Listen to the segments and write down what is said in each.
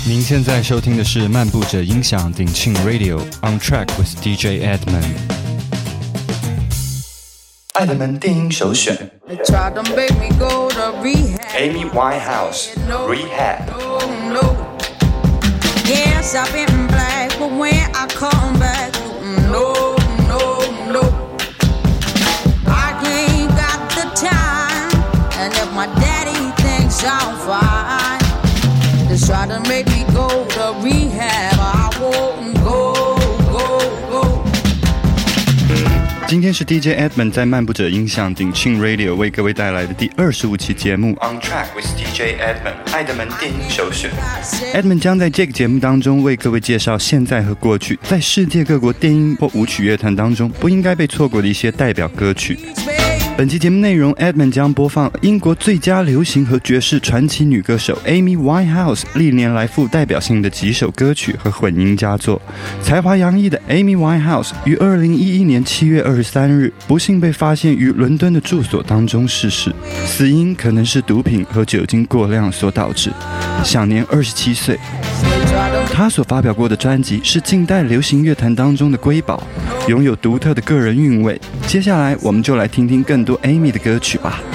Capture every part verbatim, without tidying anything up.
您现在收听的是漫步者音响鼎庆 Radio On Track with D J Edmond。 爱的门电音首选 Amy Winehouse Rehab。 Yes, I've been black, but when I come back, no, no, no, I ain't got the time, and if my daddy thinks I'm fine, just try to make me go to rehab, I won't go, go, go。 今天是 D J Edmond 在漫步者音响鼎庆 Radio 为各位带来的第二十五期节目 On Track with D J Edmond 爱的门电音首选。 Edmond 将在这个节目当中为各位介绍现在和过去在世界各国电音或舞曲乐团当中不应该被错过的一些代表歌曲。本期节目内容 Edmond 将播放英国最佳流行和爵士传奇女歌手 Amy Winehouse 历年来富代表性的几首歌曲和混音佳作。才华洋溢的 Amy Winehouse 于二零一一年七月二十三日不幸被发现于伦敦的住所当中逝世，死因可能是毒品和酒精过量所导致，享年二十七岁。他所发表过的专辑是近代流行乐坛当中的瑰宝，拥有独特的个人韵味。接下来我们就来听听更多 Amy 的歌曲吧。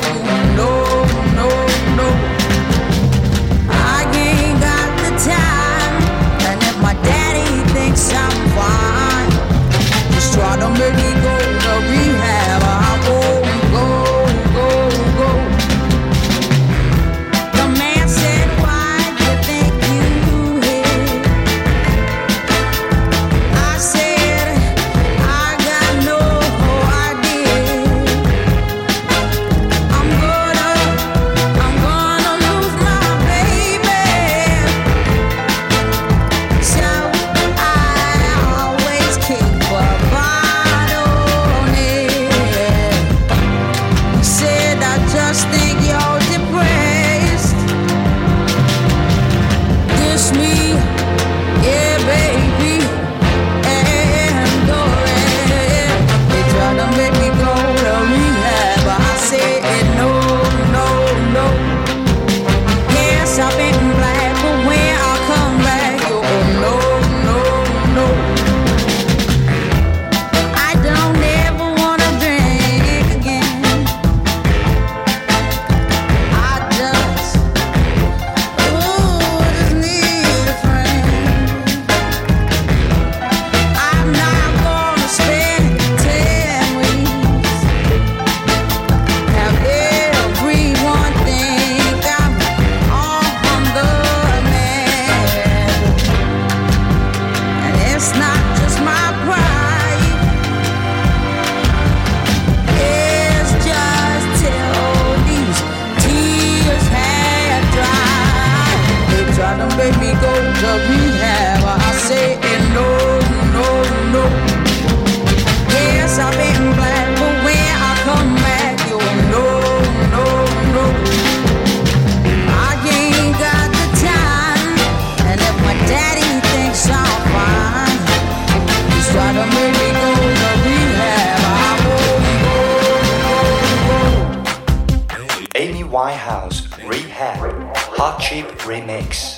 Amy Winehouse Rehab Hot Chip Remix。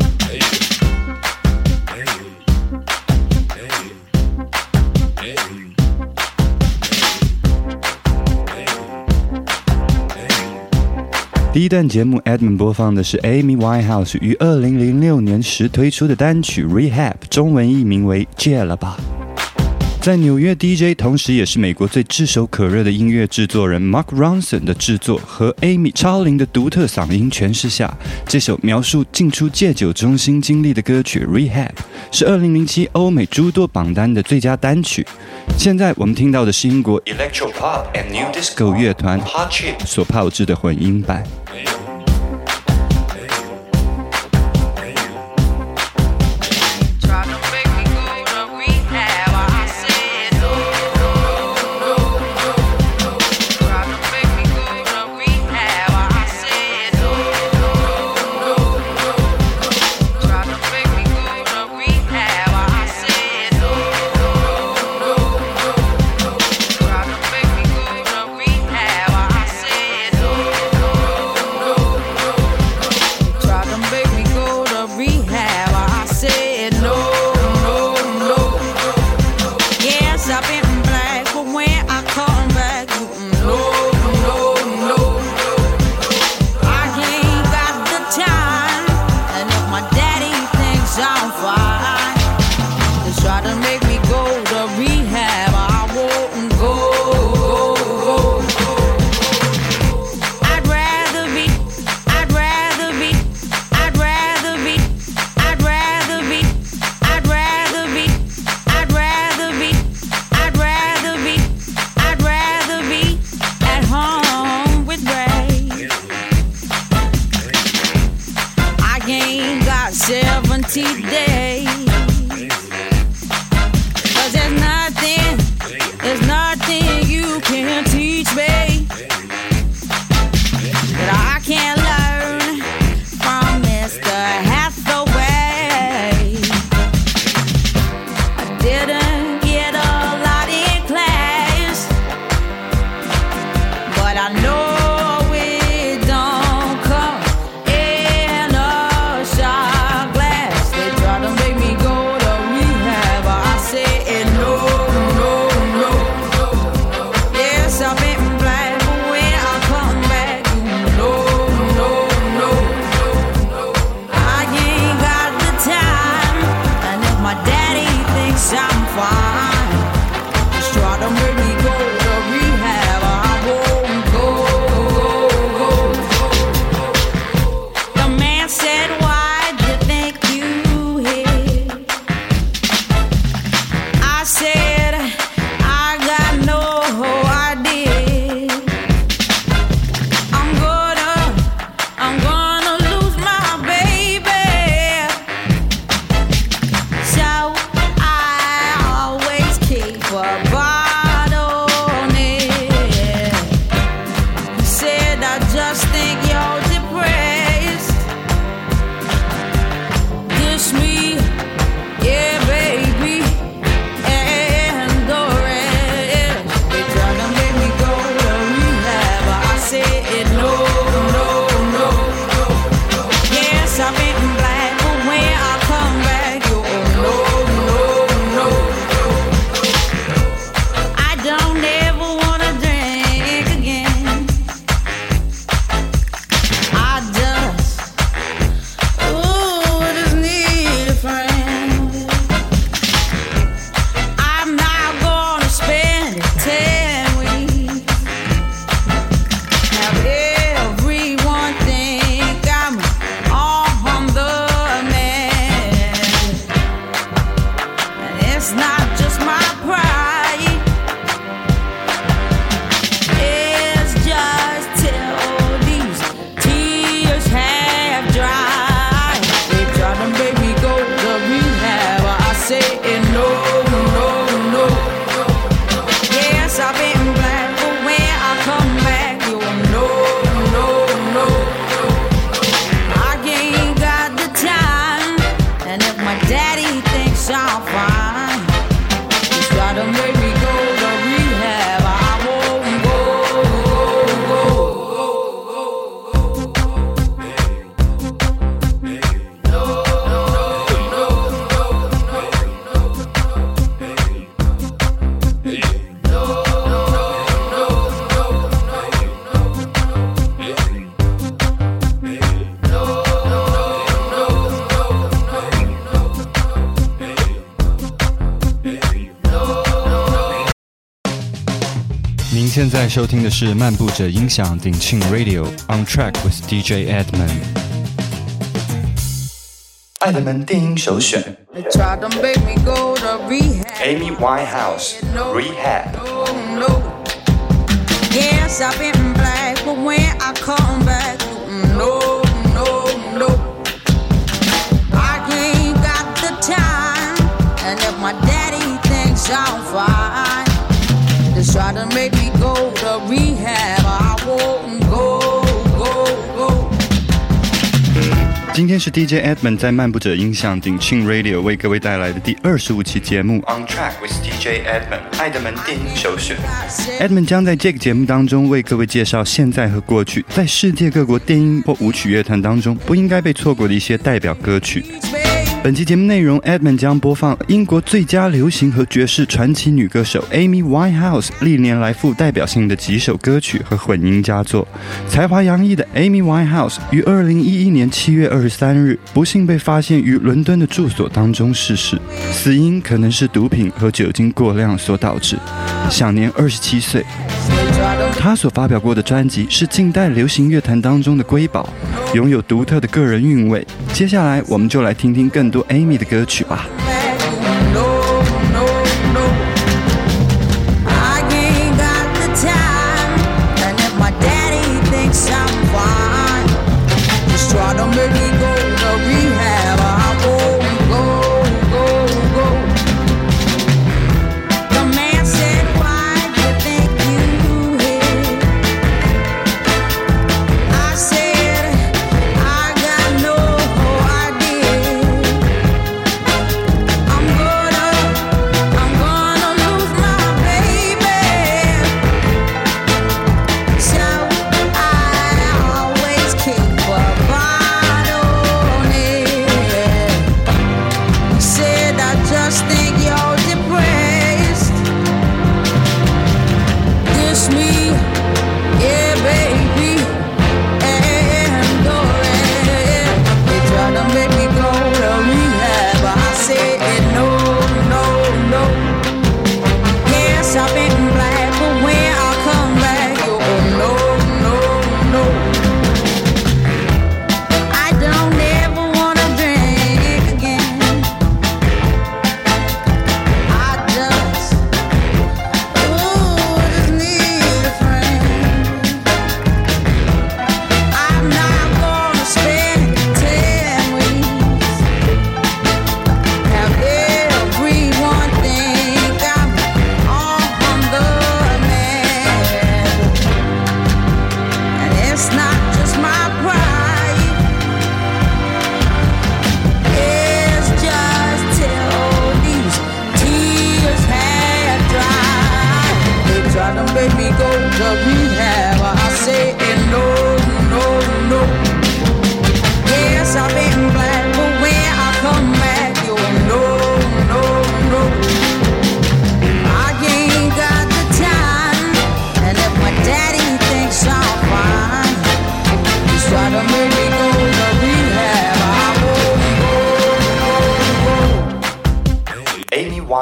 第一段节目 Edmond 播放的是 Amy Winehouse 于二零零六年时推出的单曲 Rehab， 中文译名为戒了吧。在纽约 D J 同时也是美国最炙手可热的音乐制作人 Mark Ronson 的制作和 Amy 超龄的独特嗓音诠释下，这首描述进出戒酒中心经历的歌曲 Rehab 是二零零七欧美诸多榜单的最佳单曲。现在我们听到的是英国 Electro Pop and New Disco 乐团 Hot Chip 所炮制的混音版。 I ain't got seventy days. Cause there's nothing, there's nothing you can teach me that I can't learn from Mister Hathaway. I didn't get a lot in class, but I know it don't come in a shot glass. They try to make me go to rehab, I said no, no, no, no. Yes, I've been black, but when I come back, you know, no, no, no. I ain't got the time, and if my daddy thinks I'm fine, just try to make me go to rehab, I won't go. The man said, why'd you think you hit? I said, I got no idea. I'm gonna, I'm gonna lose my baby. So I always keep a bottle near. He said, I just think you're depressed. Dish me, yeah, baby, and the rest. They try to make me go to rehab, I said no, no, no, no. Yes, I've been black, but when I come back, you no, no, no. I don't ever wanna drink again. I just, ooh, just need a friend. I'm not gonna spend ten weeks. Have everyone think I'm on the man. And it's not just my pride, it's just till these tears have dried. They try to make me go to rehab, I say no, no, no. Yes, I've been black, but when I come back, you know, no, no. I ain't got the time, and if my daddy thinks I'm fine, he's try to make me go to rehab, I won't go. 您现在收听的是漫步者音响鼎庆 Radio On Track with D J Edmond。爱德门电音首选 They try to make me go to rehab. Amy Winehouse, Rehab. No, no. Yes, I've been black, but when I come back, no, no, no. I ain't got the time, and if my daddy thinks I'm fine, just try to make me go to rehab, I won't go, go, go. 今天是 D J Edmond 在漫步者音响鼎庆 Radio 为各位带来的第二十五期节目 On Track with D J Edmond, 爱德门电音首选。 Edmond 将在这个节目当中为各位介绍现在和过去在世界各国电音或舞曲乐团当中不应该被错过的一些代表歌曲。本期节目内容 Edmond 将播放英国最佳流行和爵士传奇女歌手 Amy Winehouse 历年来富代表性的几首歌曲和混音佳作。才华洋溢的 Amy Winehouse 于二零一一年七月二十三日不幸被发现于伦敦的住所当中逝世，死因可能是毒品和酒精过量所导致，享年二十七岁。他所发表过的专辑是近代流行乐坛当中的瑰宝，拥有独特的个人韵味。接下来我们就来听听更多 Amy 的歌曲吧。 Try to make me go to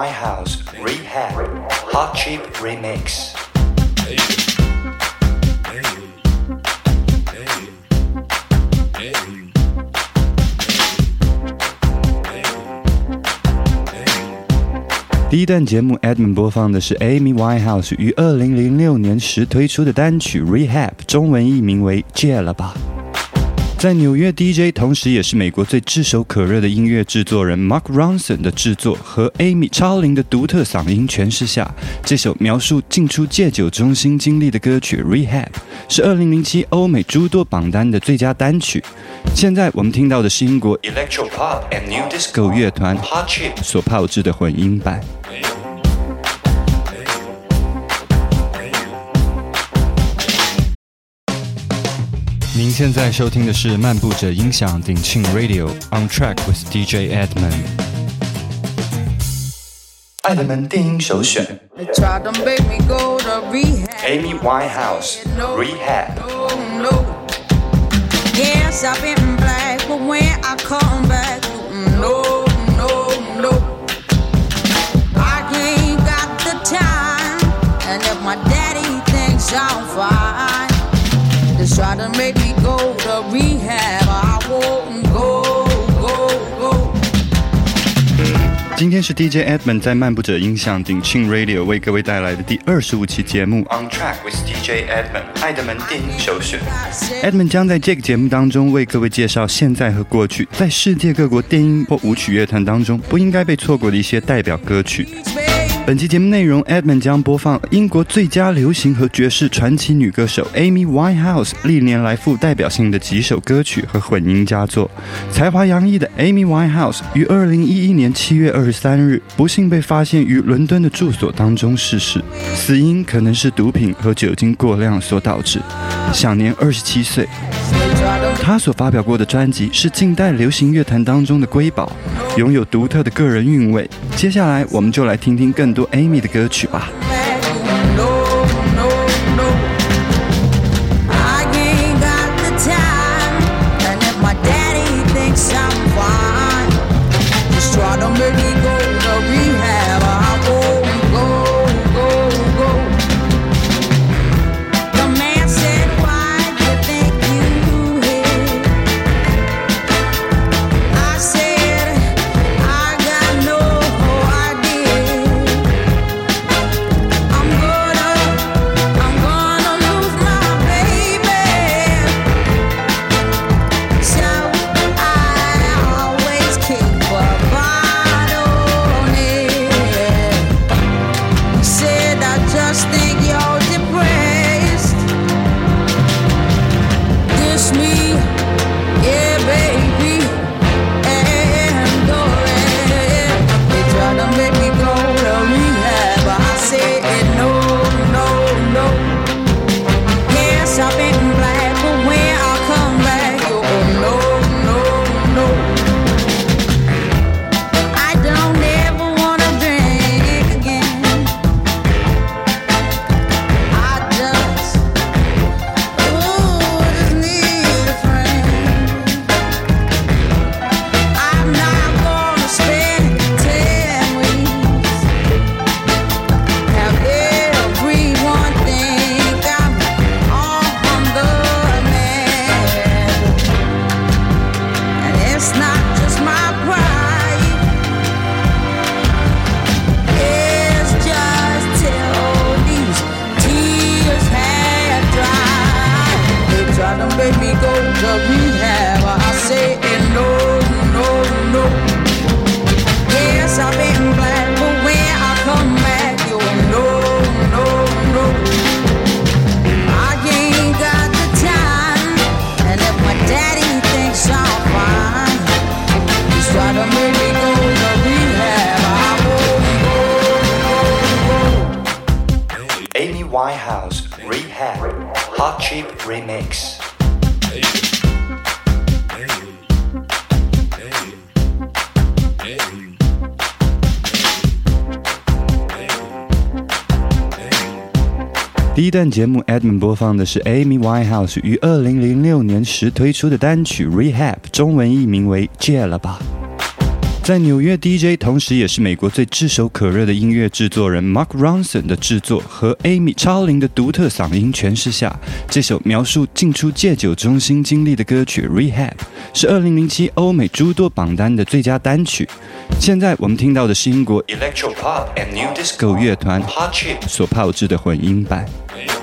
Winehouse Rehab Hot Chip Remix。 第一段节目 Edmund 播放的是 Amy Winehouse 于二零零六年时推出的单曲 Rehab， 中文译名为戒了吧。在纽约 D J 同时也是美国最炙手可热的音乐制作人 Mark Ronson 的制作和 Amy 超龄的独特嗓音诠释下，这首描述进出戒酒中心经历的歌曲 Rehab 是二零零七欧美诸多榜单的最佳单曲。现在我们听到的是英国 Electro Pop and New Disco 乐团 Hot Chip 所炮制的混音版。您现在收听的是漫步者音响鼎庆 Radio On Track with D J Edmund。 爱德门电音首选 Amy Winehouse Rehab。 Yes, I've been black, but when I come back, no, no, no, I ain't got the time, and if my daddy thinks I'm fine, just try to make me go to rehab, I won't go, go, go。 今天是 D J Edmund 在漫步者音响鼎庆 Radio 为各位带来的第二十五期节目 On Track with D J Edmund 爱德门电音首选。 Edmund 将在这个节目当中为各位介绍现在和过去在世界各国电音或舞曲乐团当中不应该被错过的一些代表歌曲。本期节目内容 Edmund 将播放英国最佳流行和爵士传奇女歌手 Amy Winehouse 历年来富代表性的几首歌曲和混音佳作。才华洋溢的 Amy Winehouse 于二零一一年七月二十三日不幸被发现于伦敦的住所当中逝世，死因可能是毒品和酒精过量所导致，享年二十七岁。她所发表过的专辑是近代流行乐坛当中的瑰宝，拥有独特的个人韵味。接下来我们就来听听更多 Amy 的歌曲吧。 Winehouse Rehab Hot Chip Remix。 第一段节目 Edmund 播放的是 Amy Winehouse 于二零零六年时推出的单曲 Rehab， 中文译名为戒了吧。 在纽约 D J， 同时也是美国最炙手可热的音乐制作人 Mark Ronson 的制作和 Amy 超龄的独特嗓音诠释下，这首描述进出戒酒中心经历的歌曲 Rehab 是二零零七欧美诸多榜单的最佳单曲。现在我们听到的是英国 Electro Pop and New Disco 狗乐团 Hot Chip 所炮制的混音版。 Hey,